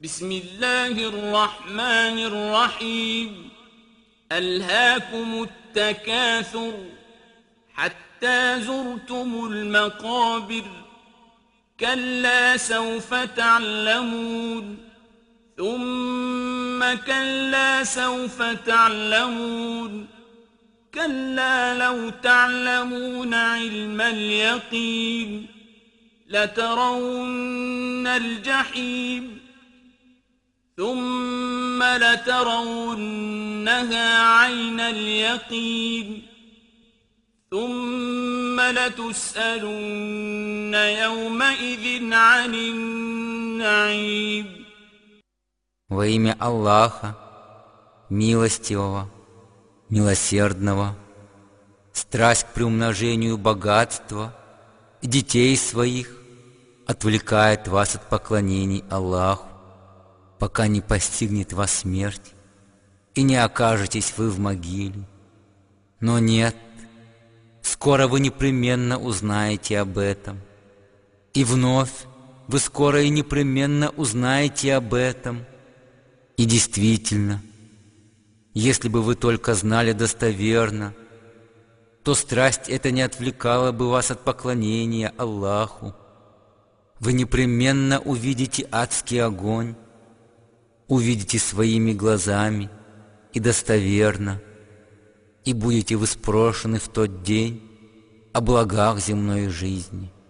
بسم الله الرحمن الرحيم ألهاكم التكاثر حتى زرتم المقابر كلا سوف تعلمون ثم كلا سوف تعلمون كلا لو تعلمون علم اليقين لترون الجحيم ثم لترونها عين اليقين ثم لتسألن يومئذ عن النعيم. Во имя Аллаха, милостивого, милосердного, страсть к приумножению богатства и детей своих отвлекает вас от поклонений Аллаху, пока не постигнет вас смерть, и не окажетесь вы в могиле. Но нет, скоро вы непременно узнаете об этом, и вновь вы скоро и непременно узнаете об этом. И действительно, если бы вы только знали достоверно, то страсть эта не отвлекала бы вас от поклонения Аллаху. Вы непременно увидите адский огонь, увидите своими глазами и достоверно, и будете вы спрошены в тот день о благах земной жизни.